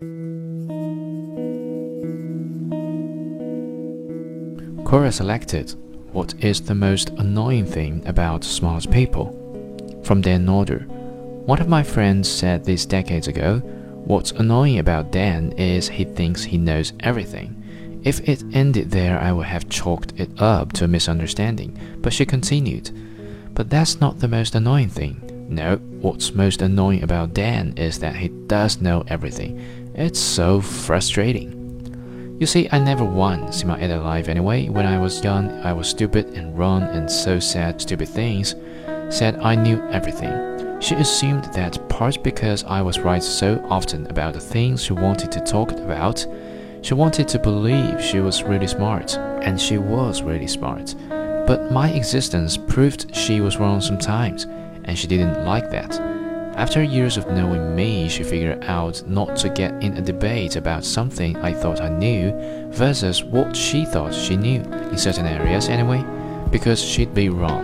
Quora selected, what is the most annoying thing about smart people? From Dan Norder. One of my friends said this decades ago, what's annoying about Dan is he thinks he knows everything. If it ended there, I would have chalked it up to a misunderstanding, but she continued, but that's not the most annoying thing. No, what's most annoying about Dan is that he does know everything. It's so frustrating. You see, I never once in my adult life anyway, when I was young, I was stupid and wrong and so said stupid things, said I knew everything. She assumed that part because I was right so often about the things she wanted to talk about, she wanted to believe she was really smart, and she was really smart. But my existence proved she was wrong sometimes, and she didn't like that. After years of knowing me, she figured out not to get in a debate about something I thought I knew versus what she thought she knew, in certain areas anyway, because she'd be wrong.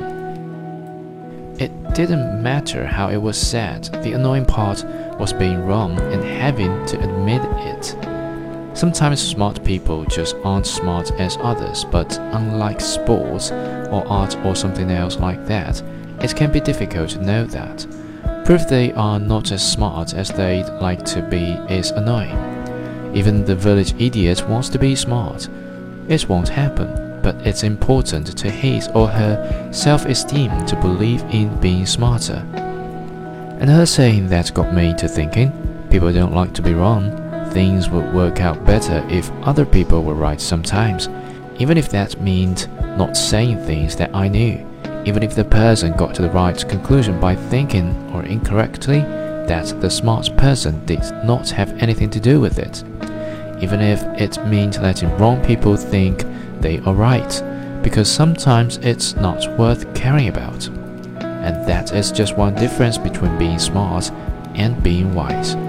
It didn't matter how it was said, the annoying part was being wrong and having to admit it. Sometimes smart people just aren't smart as others, but unlike sports or art or something else like that, it can be difficult to know that. Proof they are not as smart as they'd like to be is annoying. Even the village idiot wants to be smart. It won't happen, but it's important to his or her self-esteem to believe in being smarter. And her saying that got me to thinking, people don't like to be wrong. Things would work out better if other people were right sometimes, even if that meant not saying things that I knew, even if the person got to the right conclusion by thinking, or incorrectly, that the smart person did not have anything to do with it, even if it meant letting wrong people think they are right, because sometimes it's not worth caring about. And that is just one difference between being smart and being wise.